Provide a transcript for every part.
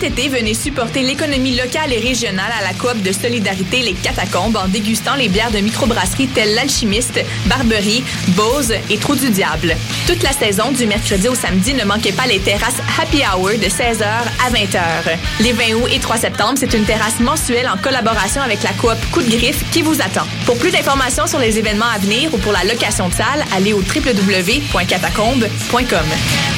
été, venez supporter l'économie locale et régionale à la coop de solidarité Les Catacombes en dégustant les bières de microbrasserie telles l'Alchimiste, Barberie, Bose et Trou du Diable. Toute la saison, du mercredi au samedi, ne manquez pas les terrasses Happy Hour de 16h à 20h. Les 20 août et 3 septembre, c'est une terrasse mensuelle en collaboration avec la coop Coup de Griffe qui vous attend. Pour plus d'informations sur les événements à venir ou pour la location de salle, allez au www.catacombes.com.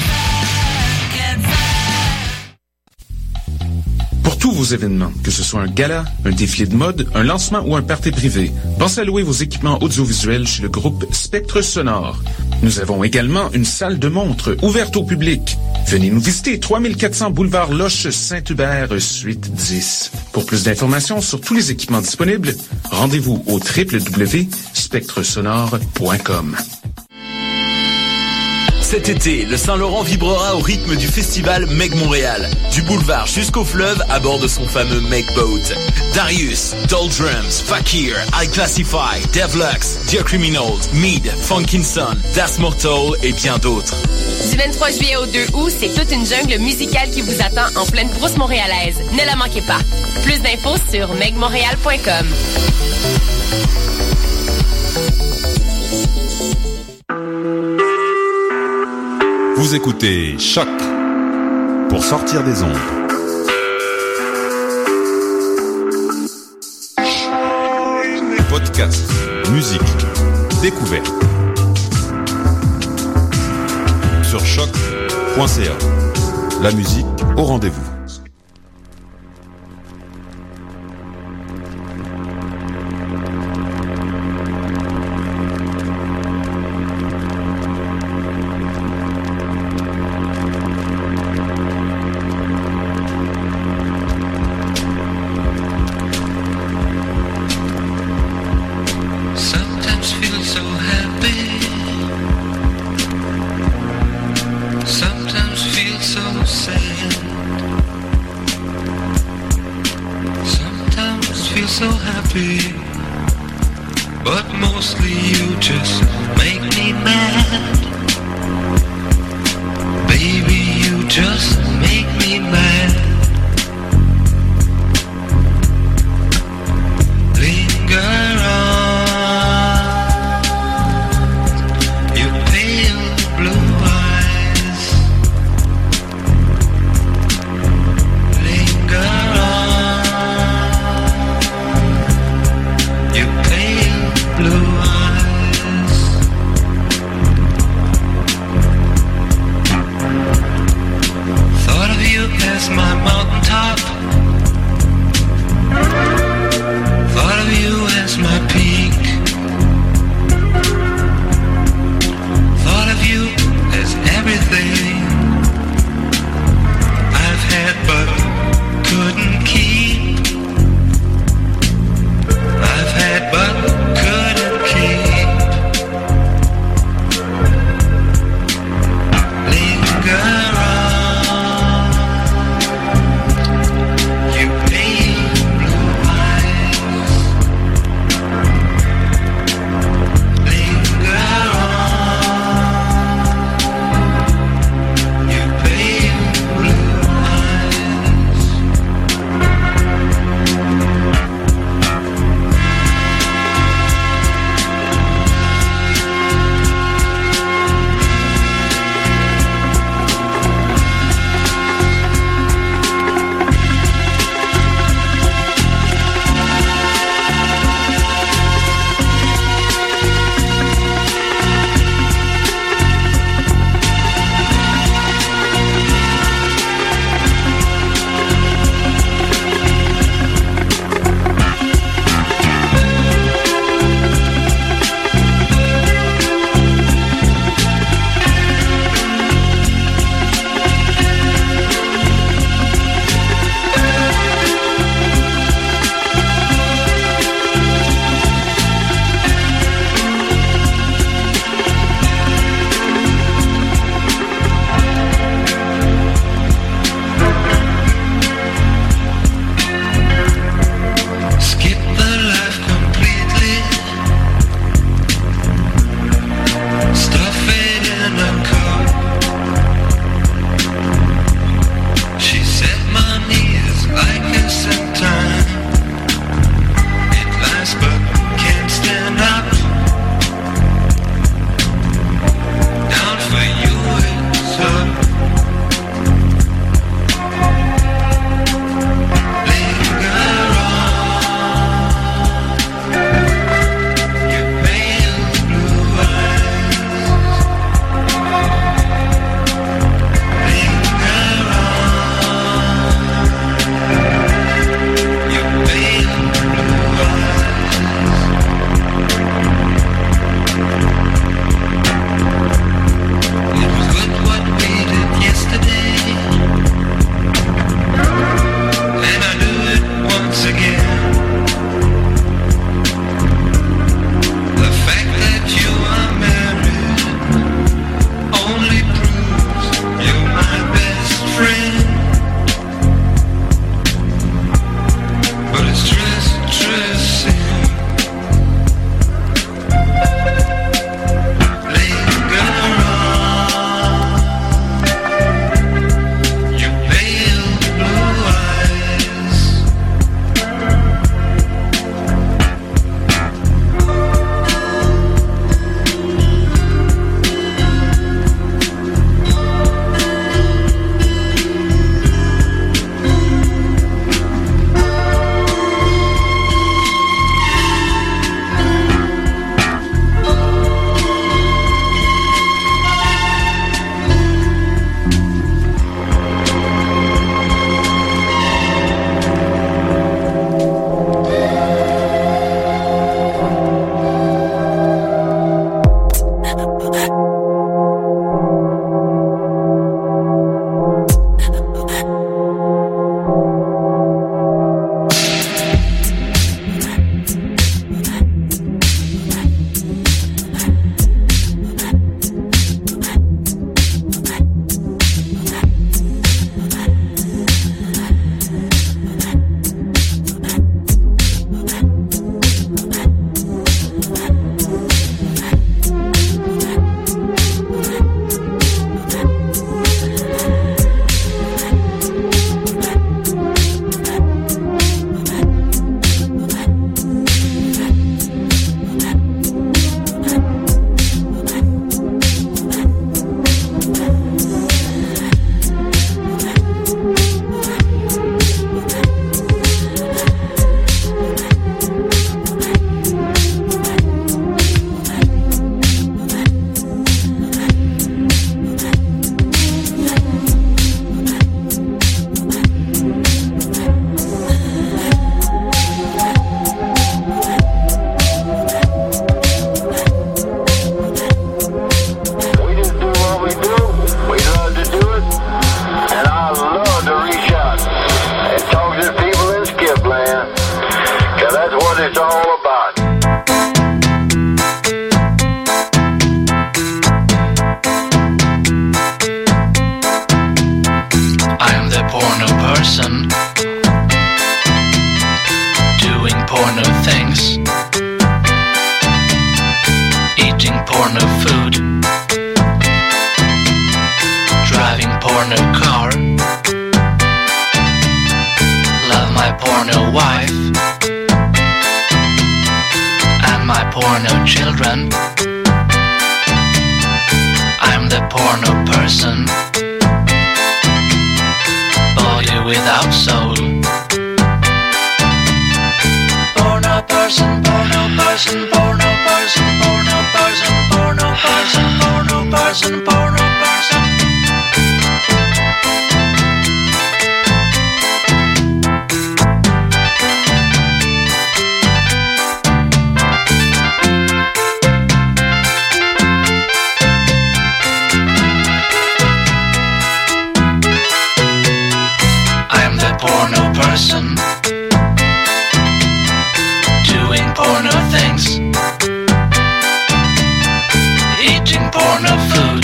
Pour tous vos événements, que ce soit un gala, un défilé de mode, un lancement ou un party privé, pensez à louer vos équipements audiovisuels chez le groupe Spectre Sonore. Nous avons également une salle de montre ouverte au public. Venez nous visiter, 3400 boulevard Loche Saint-Hubert, suite 10. Pour plus d'informations sur tous les équipements disponibles, rendez-vous au www.spectresonore.com. Cet été, le Saint-Laurent vibrera au rythme du festival Meg Montréal. Du boulevard jusqu'au fleuve à bord de son fameux Meg Boat. Darius, Doldrums, Fakir, I Classify, Devlux, Dear Criminals, Mead, Funkinson, Das Mortal et bien d'autres. Du 23 juillet au 2 août, c'est toute une jungle musicale qui vous attend en pleine brousse montréalaise. Ne la manquez pas. Plus d'infos sur megmontréal.com. Vous écoutez Choc pour sortir des ondes. Podcast, musique, découverte. Sur choc.ca. La musique au rendez-vous. My mind. my porno wife and my porno children. I'm the porno person, body without soul. Porno person, porno person, porno person, porno person, porno person, porno person, porno person. Porno person, doing porno things, eating porno food,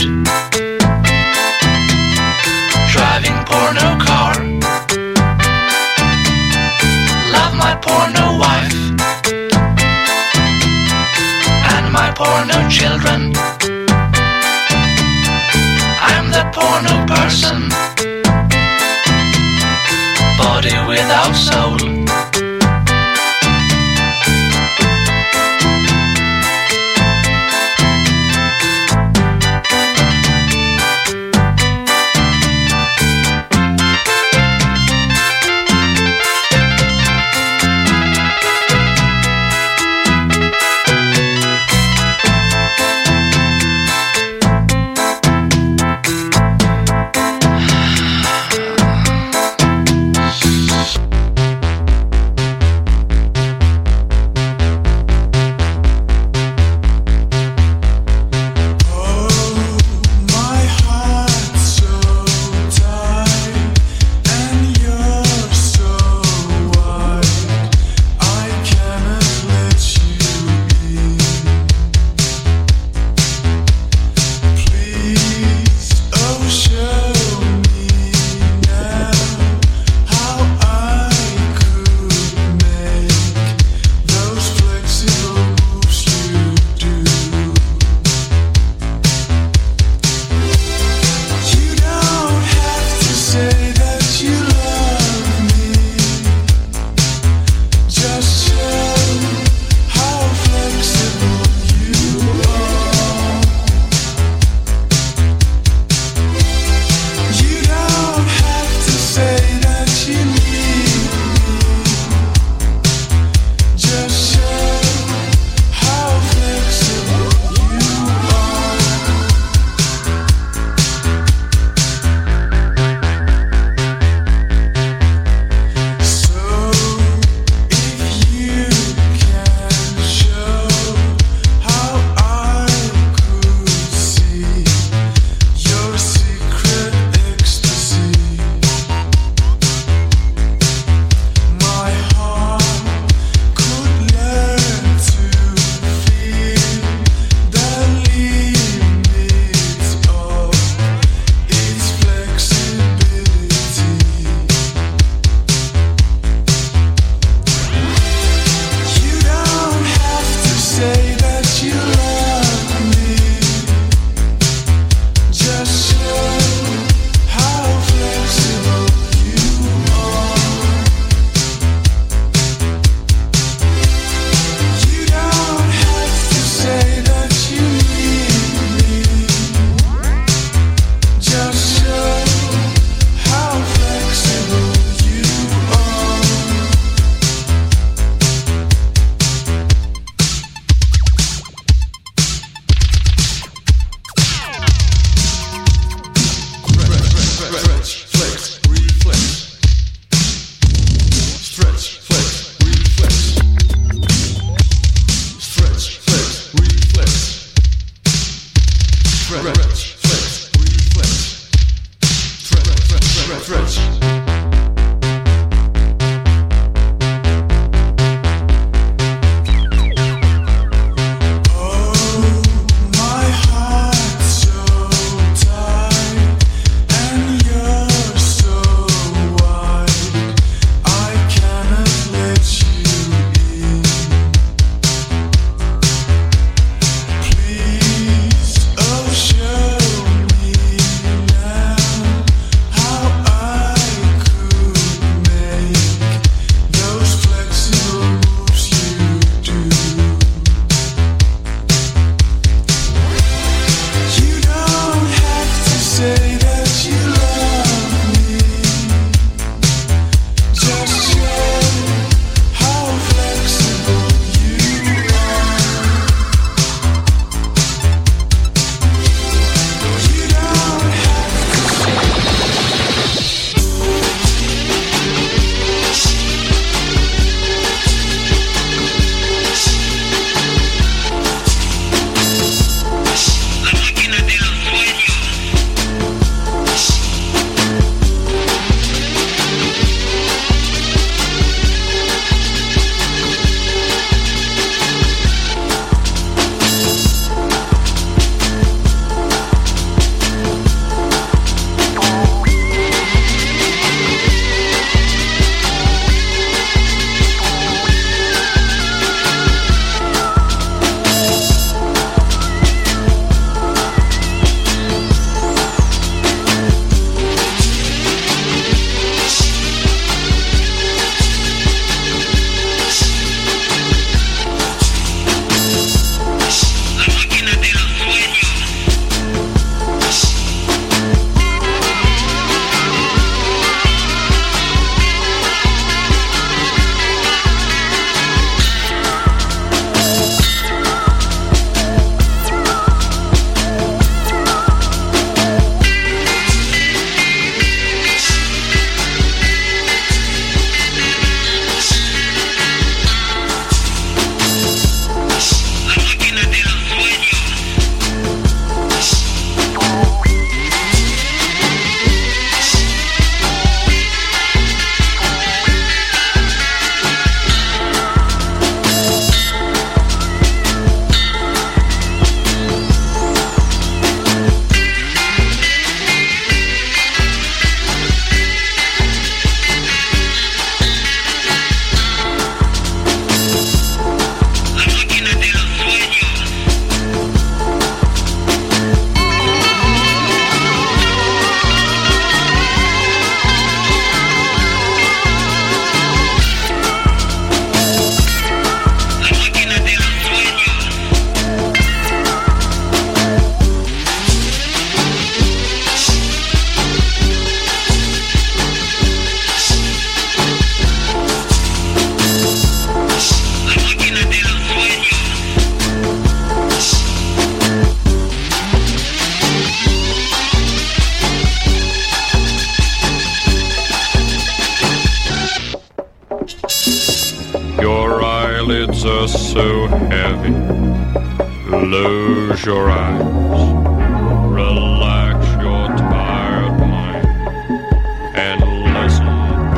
driving porno car, love my porno wife and my porno children. I'm the porno person, body without soul. Your eyelids are so heavy. Close your eyes. Relax your tired mind and listen.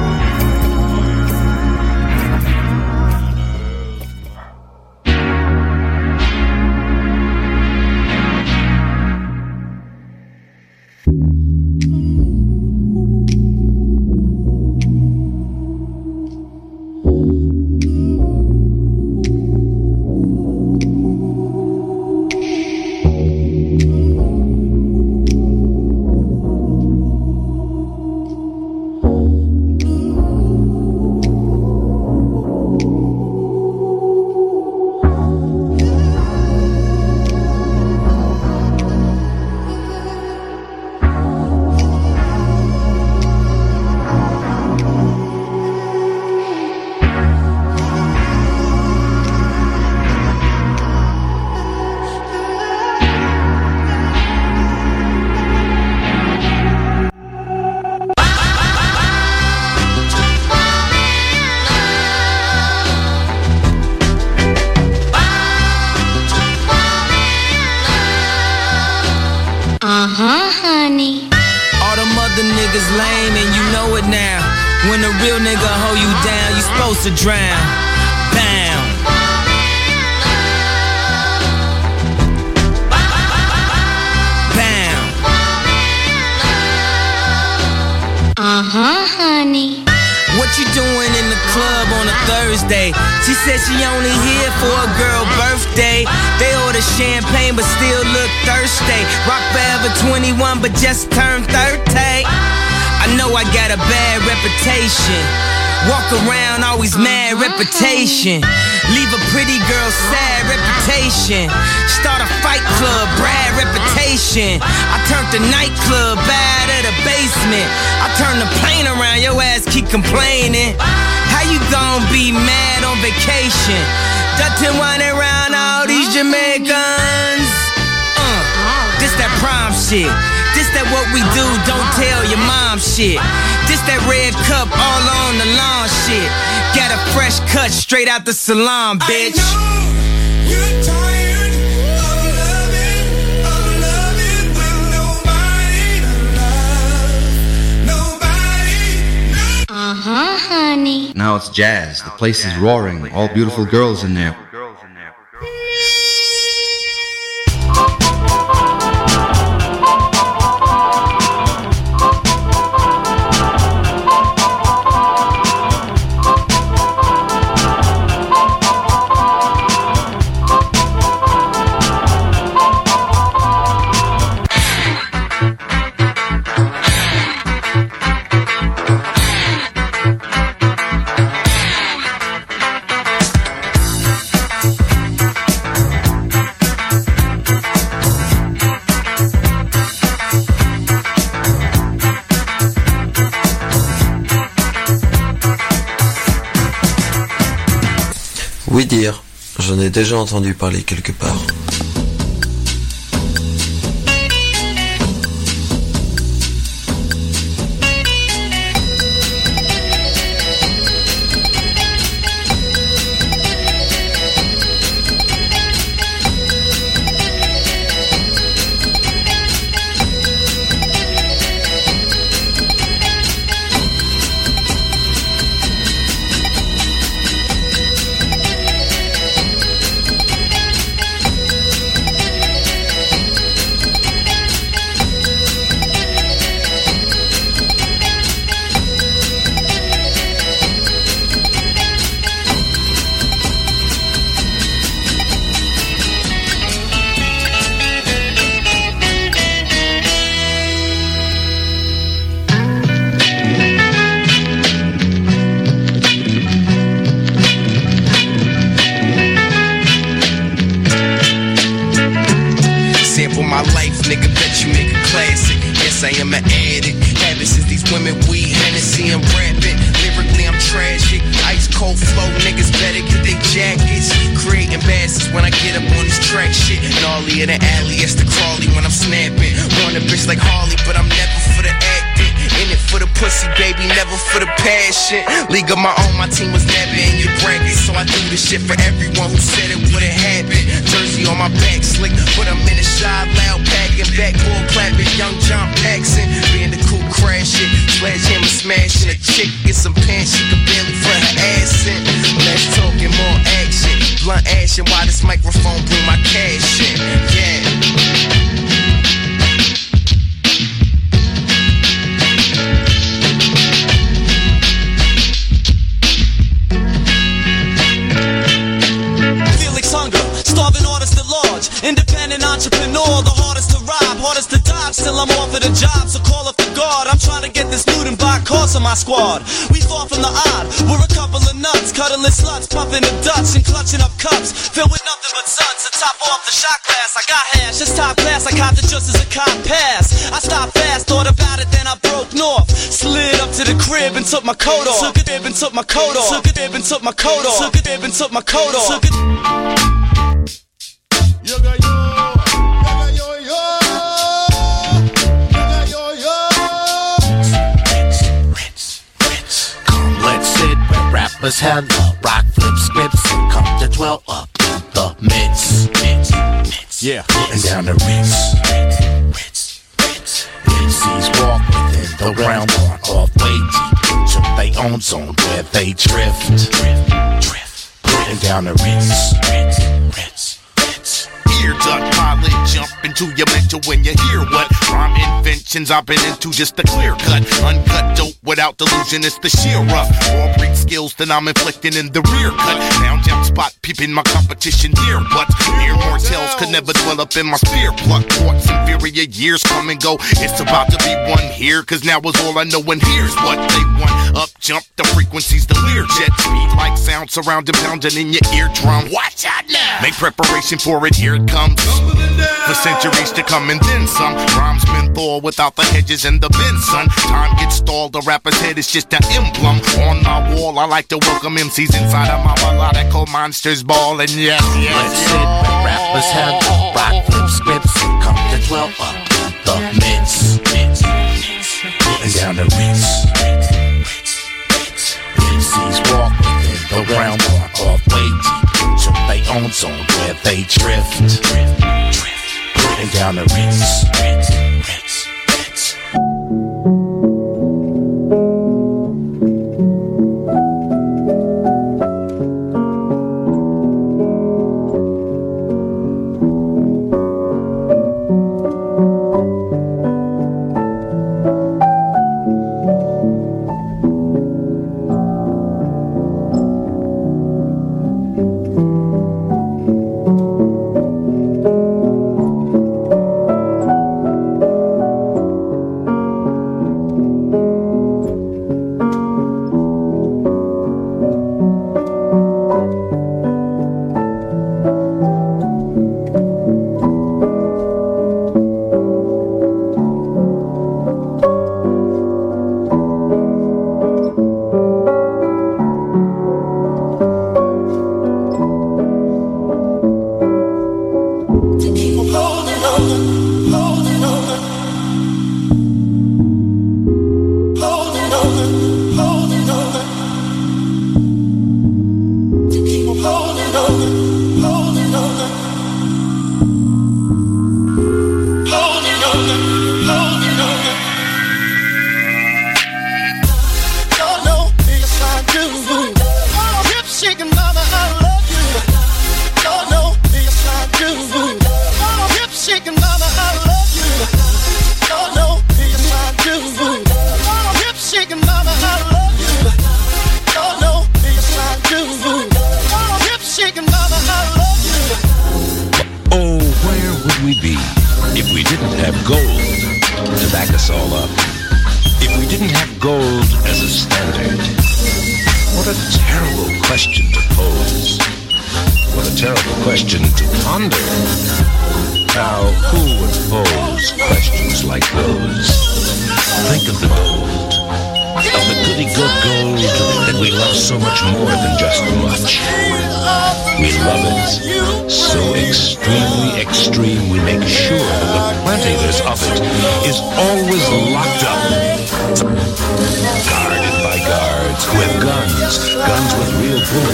Honey. All them other niggas lame and you know it now. When a real nigga hold you down, you supposed to drown. Bam. Bam. Honey. What you doing in the club on a Thursday? She said she only here for a girl birthday. They order champagne but still look thirsty. Rock forever 21 but just turned 30. I know I got a bad reputation. Walk around always mad reputation. Leave a pretty girl sad reputation. Start a fight club, Brad reputation. I turned the nightclub bad at the basement. I turned the plane around, your ass keep complaining. How you gon' be mad on vacation? Dutton running around all these Jamaicans. This that prom shit. This that what we do, don't tell your mom shit. This that red cup all on the lawn shit. Got a fresh cut straight out the salon, bitch. I know you're tired of loving with nobody to love. Nobody. Honey. Now it's jazz. The place is roaring. All beautiful girls in there. Oui dire, j'en ai déjà entendu parler quelque part. My life, nigga, bet you make a classic. Yes, I am an addict. Habit since these women, weed, Hennessy, and rapping. Lyrically, I'm tragic. Ice cold flow, niggas better get their jackets. Creating bastards when I get up on this track shit. Gnarly in the alley, it's the crawly when I'm snapping. Want a bitch like Harley, but I'm never for the acting. In it for the pussy, baby, never for the passion. League of my own, my team was never in your bracket. So I do this shit for everyone who said it wouldn't happen. Jersey on my back, slick, put them in a shot, loud packing, backboard clapping, young John Paxson. Being the cool crash shit, sledgehammer smashing. A chick get some pants, she could barely front her ass in. Let's talk and more action. Blunt action while this microphone bring my cash in. Yeah. Independent entrepreneur, the hardest to rob, hardest to dodge. Still I'm off at a job, so call up the guard. I'm trying to get this loot and buy cars on my squad. We far from the odd, we're a couple of nuts, cuddling sluts, pumping the Dutch and clutching up cups filled with nothing but suds. To top off the shot glass, I got hash, it's top class. I copped it just as a cop passed. I stopped fast, thought about it, then I broke north. Slid up to the crib and took my coat off. Took a dib and took my coat off. Took a dib and took my coat off. Took a dib and took my coat off. Yoga yo, yoga yo yo, yoga yo yo. Ritz. Come, let's sit where rappers hella rock, flip scripts, and come to dwell up in the midst. Yeah, and down the Ritz. MCs walk within the realm on off way deep into their own zone where they drift. And down the Ritz. Ear duck, pilot, jump into your mental when you hear what rhyme inventions I've been into. Just a clear cut, uncut dope without delusion. It's the sheer rough raw breed skills that I'm inflicting in the rear cut. Now jump spot, peeping my competition here, but mere mortals could never dwell up in my spear. Pluck thoughts, inferior years come and go. It's about to be one here, cause now is all I know, and here's what they want. Up jump the frequencies, the leer jet speed like sound surrounding, pounding in your eardrum. Watch out now, make preparation for it, here it comes. For centuries to come and then some. Rhymes menthol without the hedges and the bend, son. Time gets stalled, the rapper's head is just an emblem. On my wall, I like to welcome MCs inside of my melodical monsters ball. And yes, let's sit where rappers have the rock, flip scripts, and come to dwell up in the midst. And down the Ritz. MCs walk within the realm on off way deep into their own zone where they drift. And down the Ritz.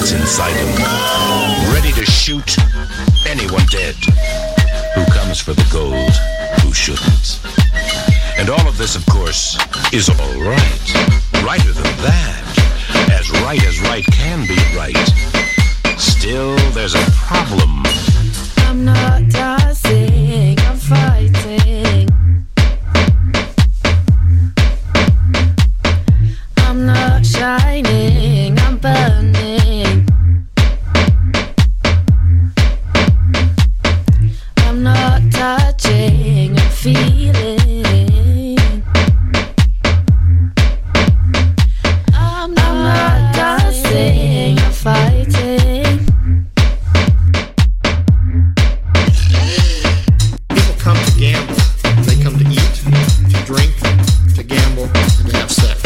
that's inside him, ready to shoot anyone dead. Who comes for the gold, who shouldn't? And all of this, of course, is all right. Righter than that. As right can be right. Still, there's a problem. I'm not dancing, I'm fighting. I'm not shining, I'm burning. I'm not touching, I'm feeling. I'm not dancing, I'm fighting. People come to gamble. They come to eat, to drink, to gamble, and to have sex.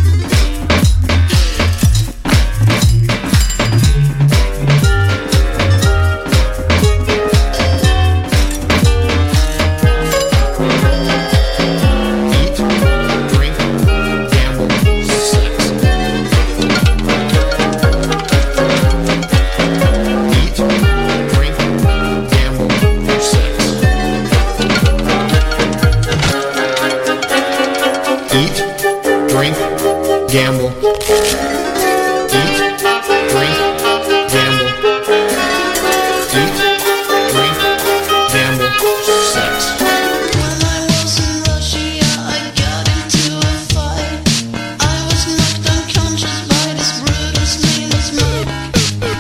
Gamble. Eat, drink, gamble. Eat, drink, gamble, sex. When I was in Russia, I got into a fight. I was knocked unconscious by this Brutus name is Mike.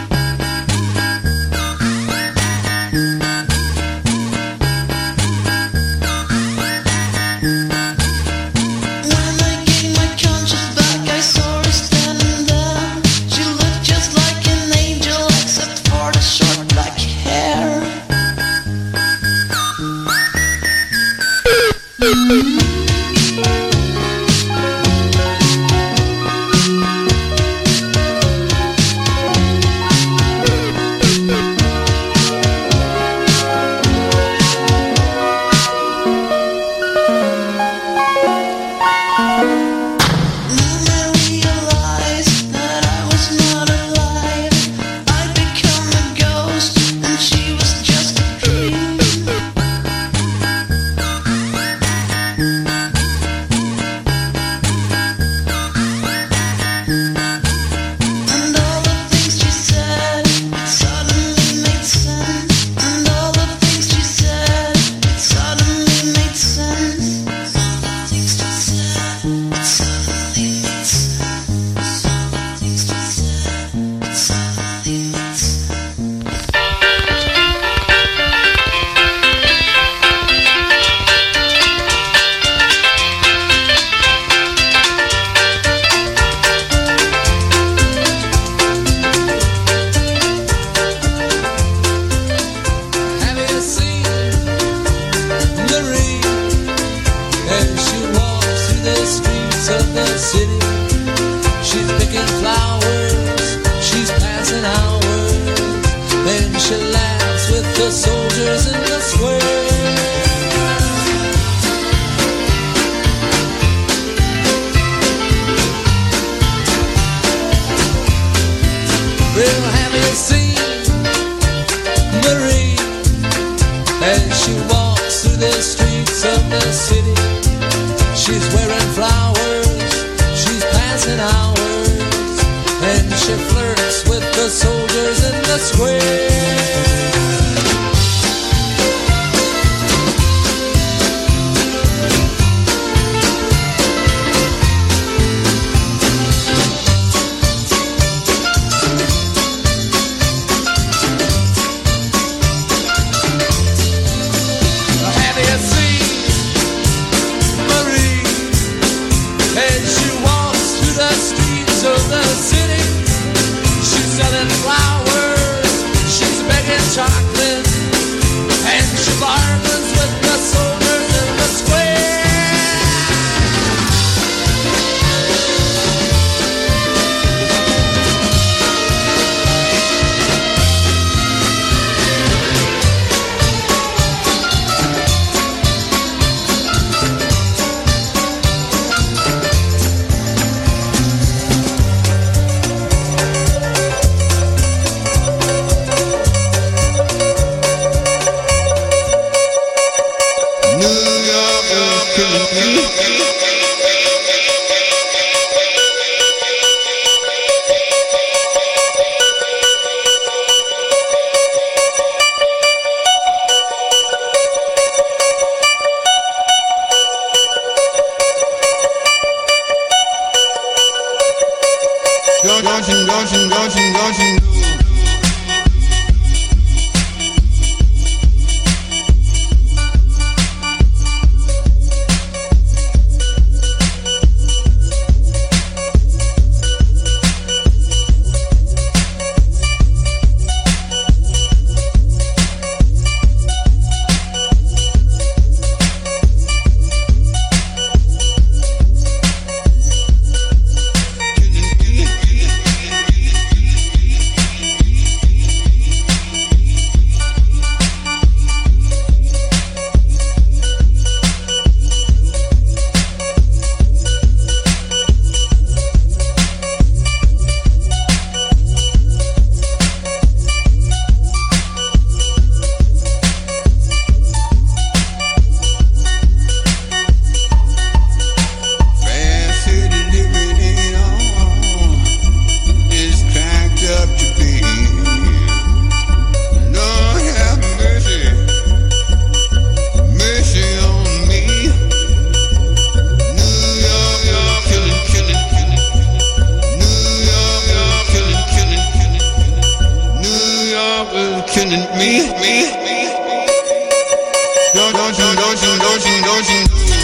When I gained my conscience back, I saw her standing there. She looked just like an angel, except for the short black hair. She's selling flowers, she's begging child. killing me. Don't you.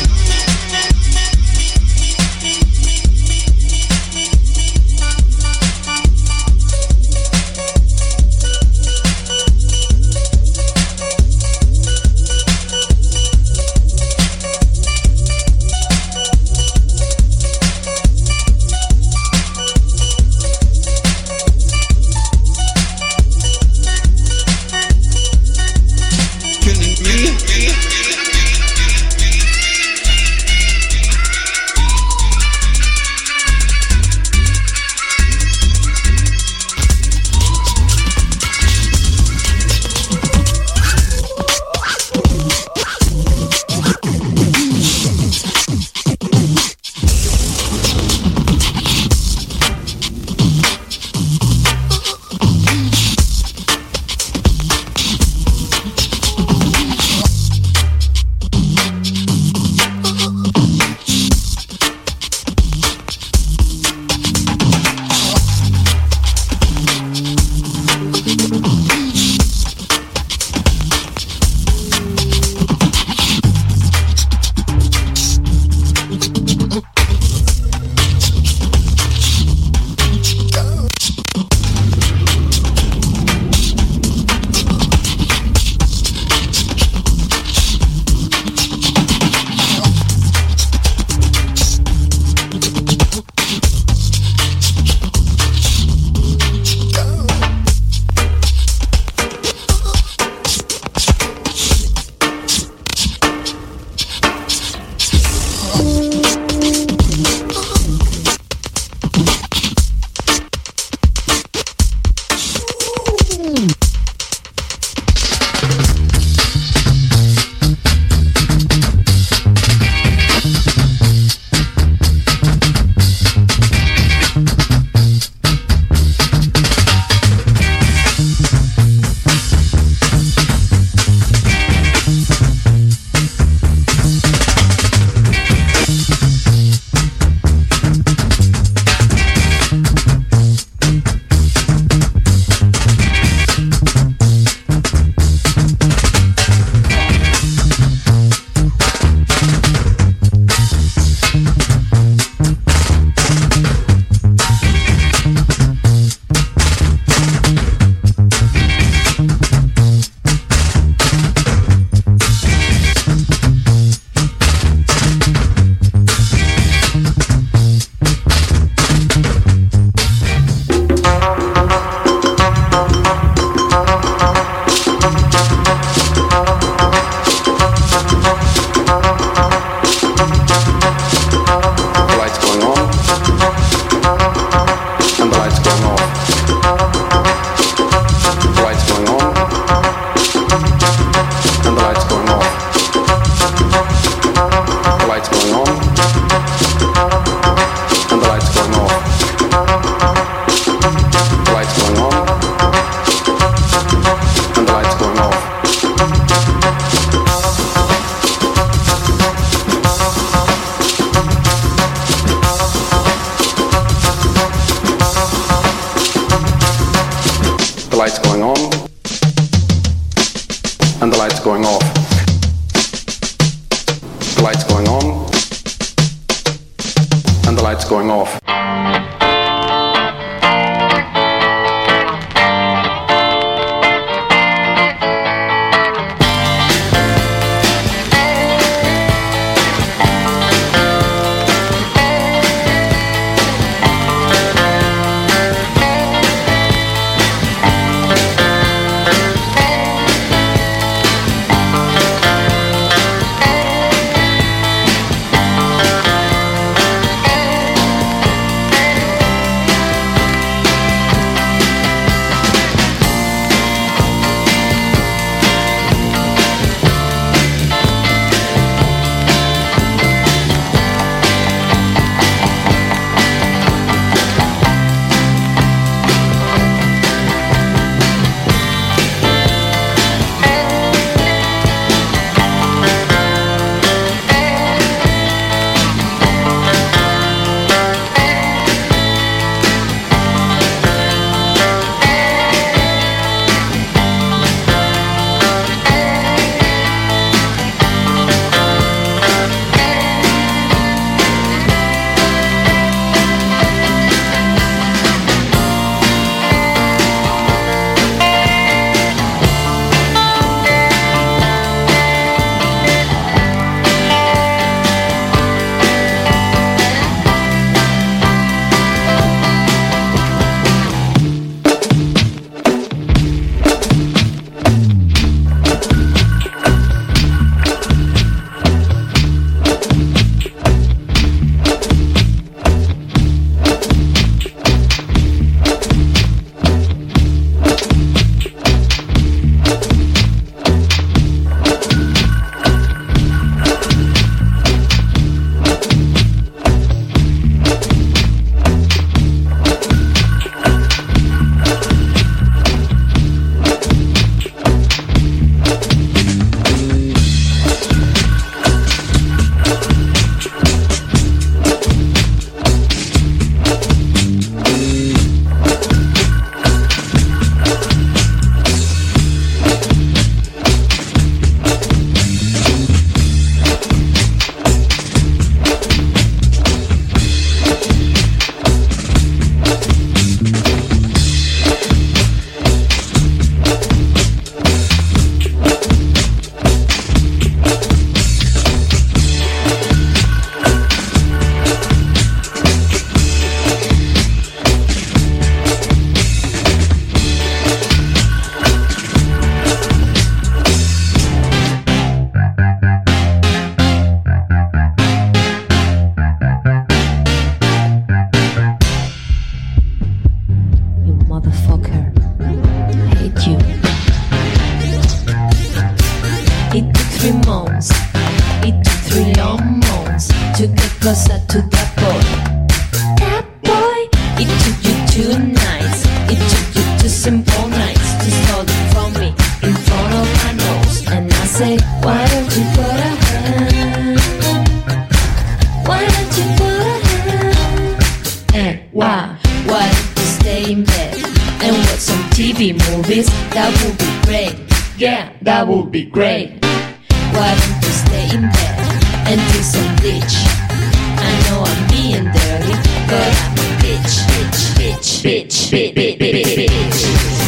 Going off. simple nice to stole it from me in front of my nose. And I say, why don't you put a hand? Why don't you put a hand? And why don't you stay in bed and watch some TV movies? That would be great. Yeah, that would be great. Why don't you stay in bed and do some ditch? I know I'm being dirty, but I'm a bitch, bitch, bitch, bitch, bitch, bitch, bitch.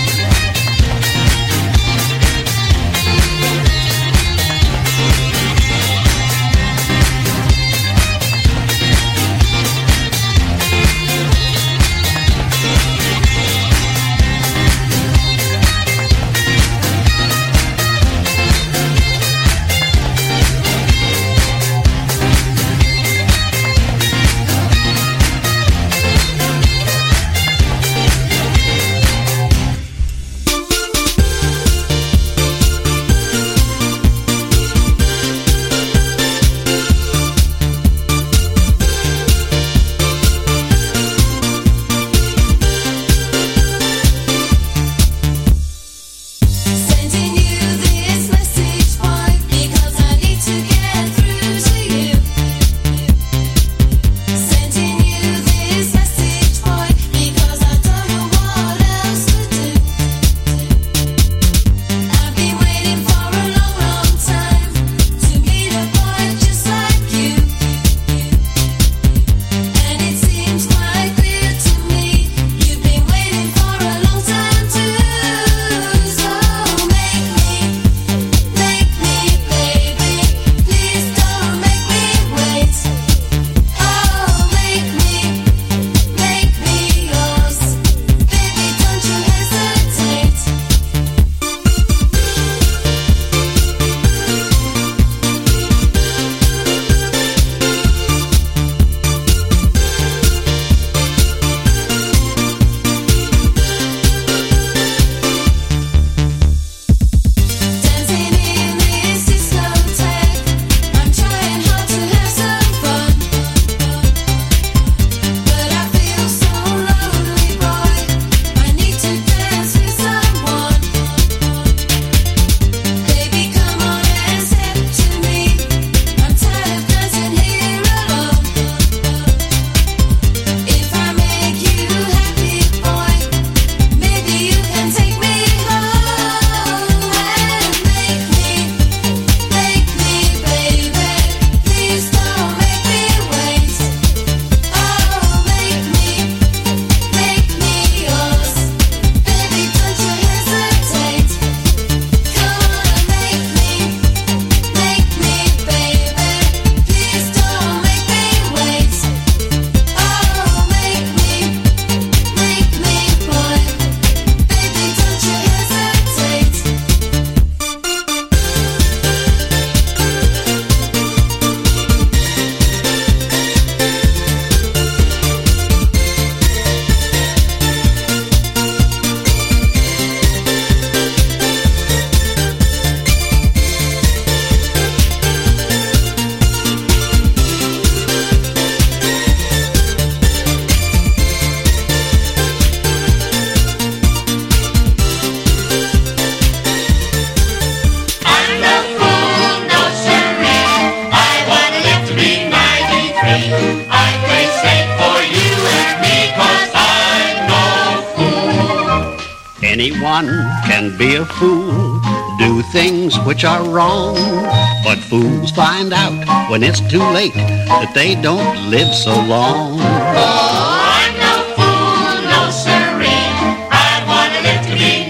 Anyone can be a fool, do things which are wrong, but fools find out when it's too late that they don't live so long. Oh, I'm no fool, no siree. I want to live to be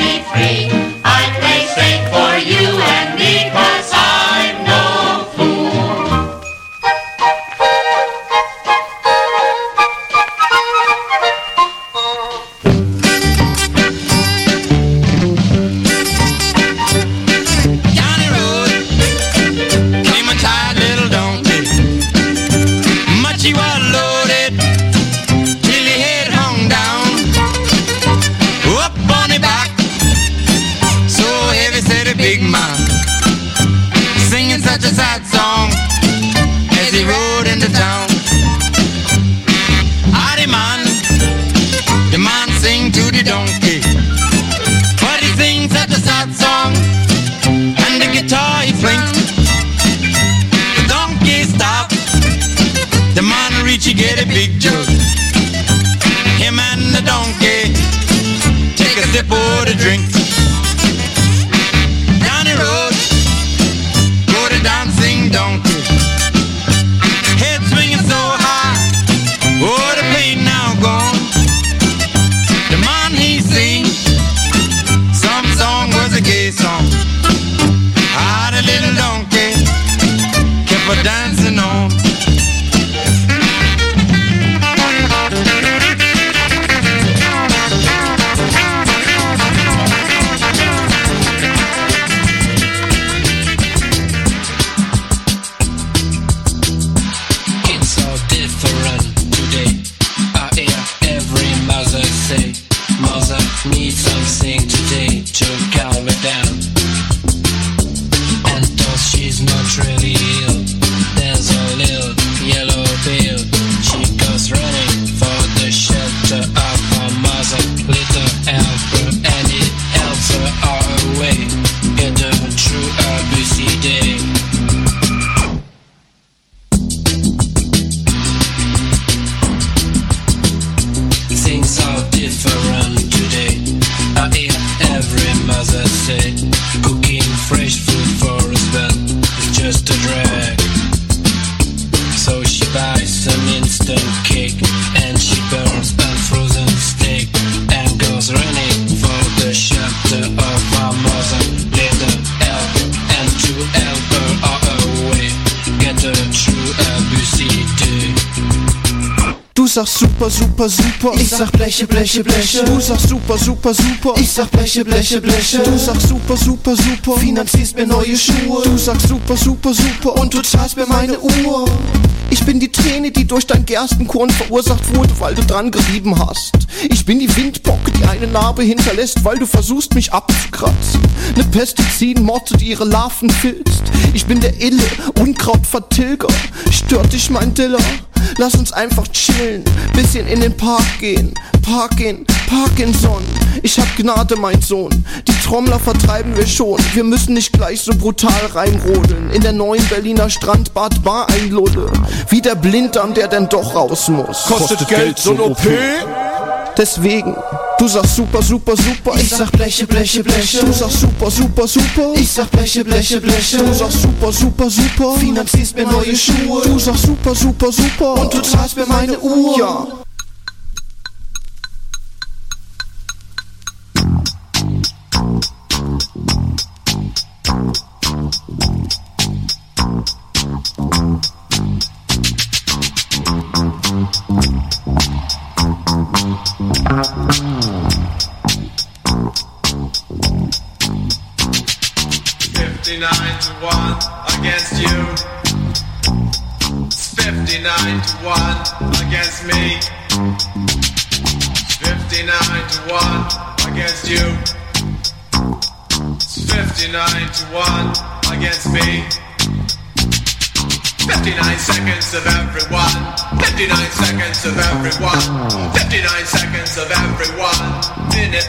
93. I play safe for you and me, 'cause I'm no fool. Johnny Rose came a tired little donkey. Much he was loaded till he head hung down. Up on his back, so heavy said a big man, singing such a sad song as he rode into town. Ah, the man sing to the donkey. Need something today to calm me down. And though she's not really ill, there's a little yellow pill. She goes running for the shelter of her mother. Little helper, and it helps her all away. Get her through a busy day. Things are different today. I hear every mother say, cooking fresh food for husband is just a drag. So she buys some instant cake and she burns a frozen steak and goes running for the shelter of her mother. Let her help and to help her all away. Get her through a busy day. Du sagst super, super, super. Ich sag Bleche, Bleche, Bleche. Du sagst super, super, super. Ich sag Bleche, Bleche, Bleche. Du sagst super, super, super. Finanzierst mir neue Schuhe. Du sagst super, super, super. Und du zahlst mir meine Uhr. Ich bin die Träne, die durch dein Gerstenkorn verursacht wurde, weil du dran gerieben hast. Ich bin die Windbocke, die eine Narbe hinterlässt, weil du versuchst, mich abzukratzen. Ne Pestizidmotte, die ihre Larven filzt. Ich bin der Ille, Unkrautvertilger. Stört dich mein Diller? Lass uns einfach chillen, bisschen in den Park gehen. Parkinson. Ich hab Gnade, mein Sohn. Die Trommler vertreiben wir schon. Wir müssen nicht gleich so brutal reinrodeln. In der neuen Berliner Strandbad Bar einludde. Wie der Blinddarm, der denn doch raus muss. Kostet Geld so ein OP? Deswegen, du sagst super, super, super. Ich sag Bleche, Bleche, Bleche. Du sagst super, super, super. Ich sag Bleche, Bleche, Bleche. Du sagst super, super, super. Finanzierst mir neue Schuhe. Du sagst super, super, super. Und du zahlst mir meine Uhr. Ja. To 1 against you. It's 59 to 1 against me. It's 59 to 1 against you. It's 59 to 1 against me. 59 seconds of everyone. 59 seconds of everyone. 59 seconds of everyone. Minute.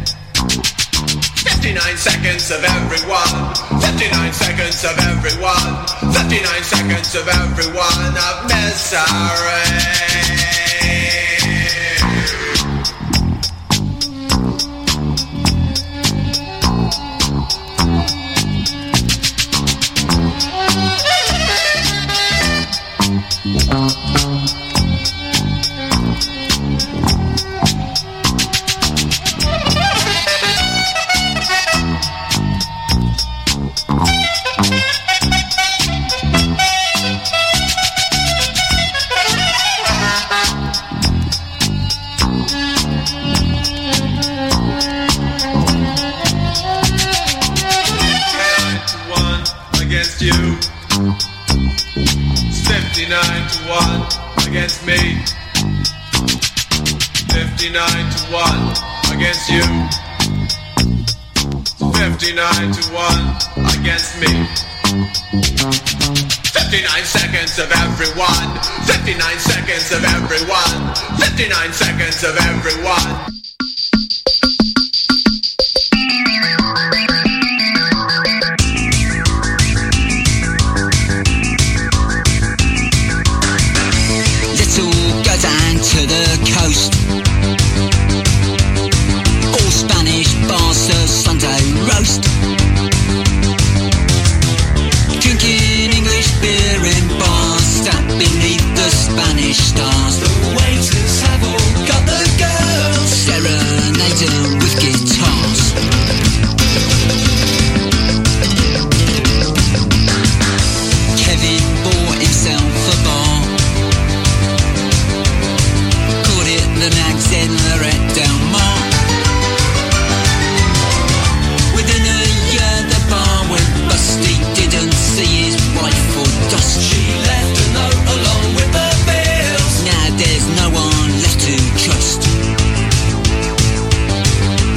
59 seconds of everyone. 59 seconds of everyone. 59 seconds of everyone of misery. You. It's 59 to 1 against me. 59 to 1 against you. It's 59 to 1 against me. 59 seconds of everyone. 59 seconds of everyone. 59 seconds of everyone. To the coast, all Spanish bars serve Sunday roast, drinking English beer in bars stacked beneath the Spanish stars. The waiters have all got the girls serenading with guitars. Kevin bought himself a bar. The Nags in Lorette Del Mar. Within a year the bar went bust. He didn't see his wife or dust. She left a note along with the bills. Now there's no one left to trust.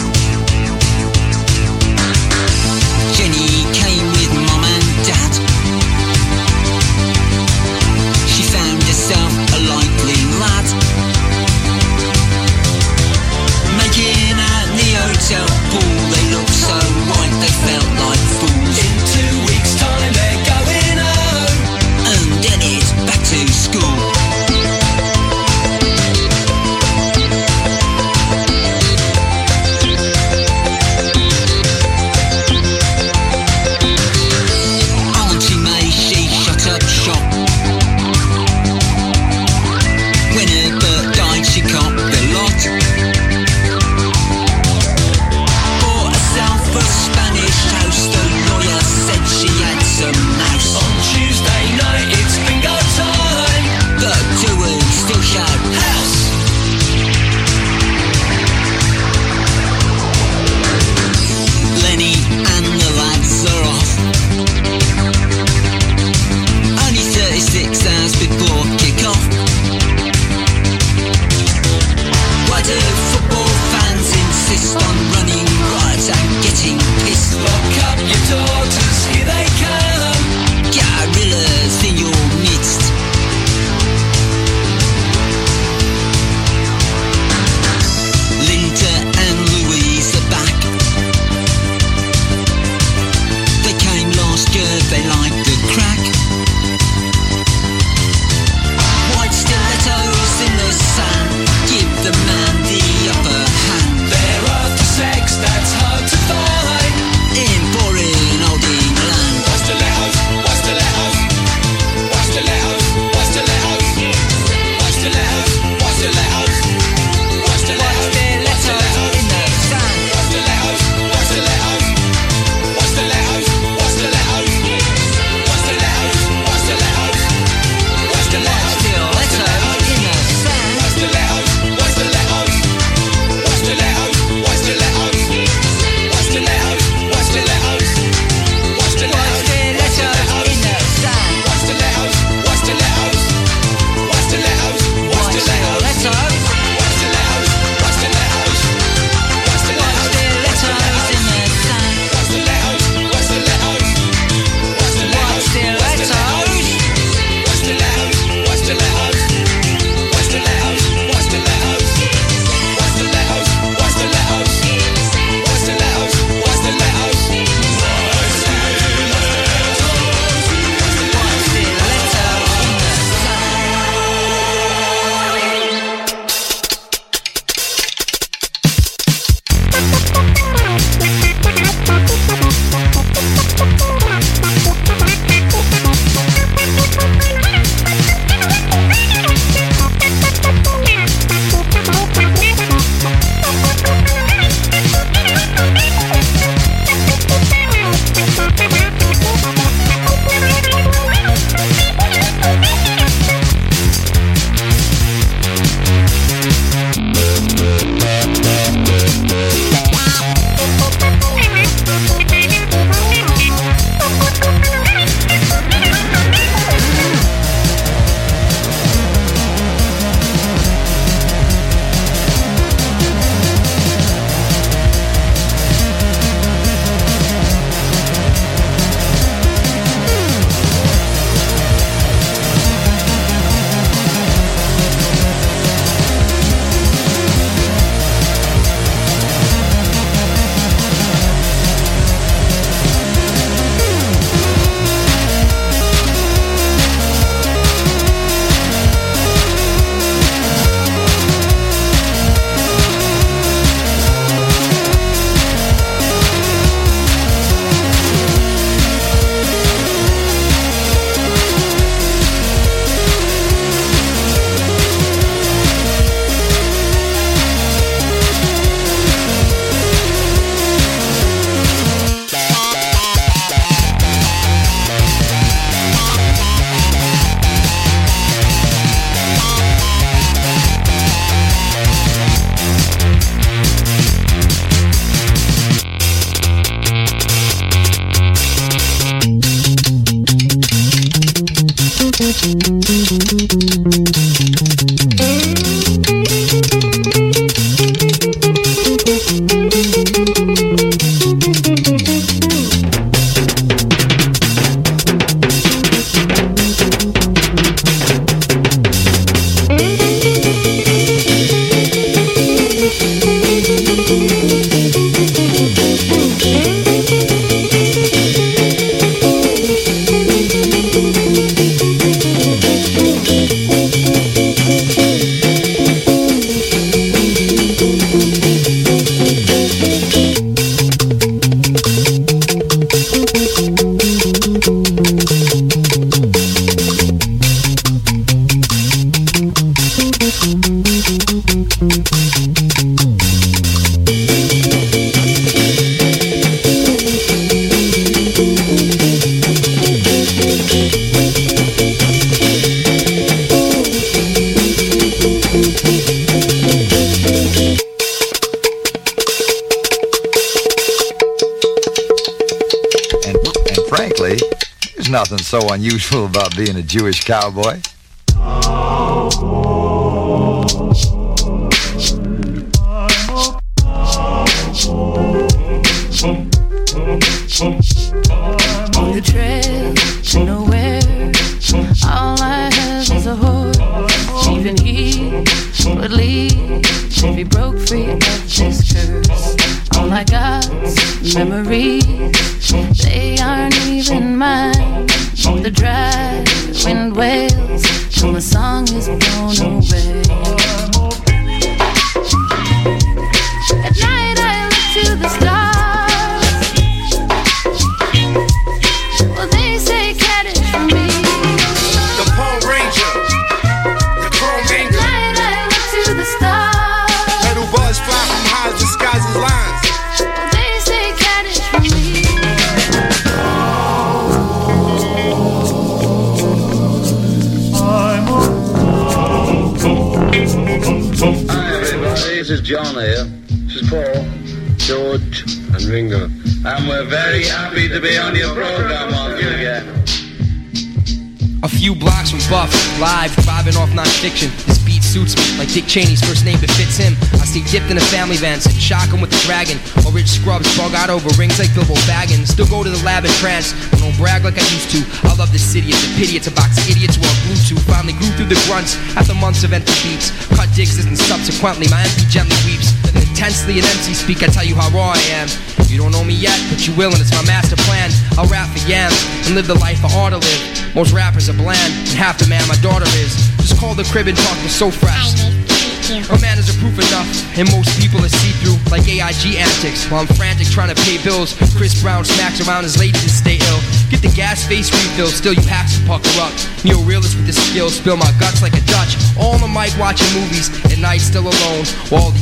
Frankly, there's nothing so unusual about being a Jewish cowboy. On the trail to nowhere, all I have is a horse. Even he would leave if he broke free of this curse. All I got's memories, they aren't even mine. The dry wind wails till my song is blown away. At night I look to the stars. Well, they say cat is for me. The Pole Ranger, the Chrome Ranger. At night I look to the stars. Metal buzz fly from highs, disguises lines. Well, they say cat is for me. Hi everybody, this is John here. This is Paul, George, and Ringo. And we're very happy to be on your program once again. A few blocks from Buff, live, vibing off non-fiction. This beat suits me, like Dick Cheney's first name befits him. I stay dipped in a family van, sit shock him with the dragon. Or Rich Scrubs bug out over rings like Bilbo Baggins. Still go to the lab in trance, but don't brag like I used to. I love this city, it's a pity, it's a box of idiots we're glued to. Finally grew through the grunts, after months of empty beats. Cut digs and subsequently, my MP gently weeps. Intensely in MC speak, I tell you how raw I am. You don't know me yet, but you will, and it's my master plan. I'll rap for yams and live the life I ought to live. Most rappers are bland, and half the man my daughter is. Just call the crib and talk, we're so fresh. My manners are proof enough, and most people are see-through like AIG antics. While I'm frantic trying to pay bills, Chris Brown smacks around his lady to stay ill. Get the gas face refill, still you hacks to pucker up. Neo-realist with the skill, spill my guts like a Dutch. All on the mic watching movies, at night still alone. While all these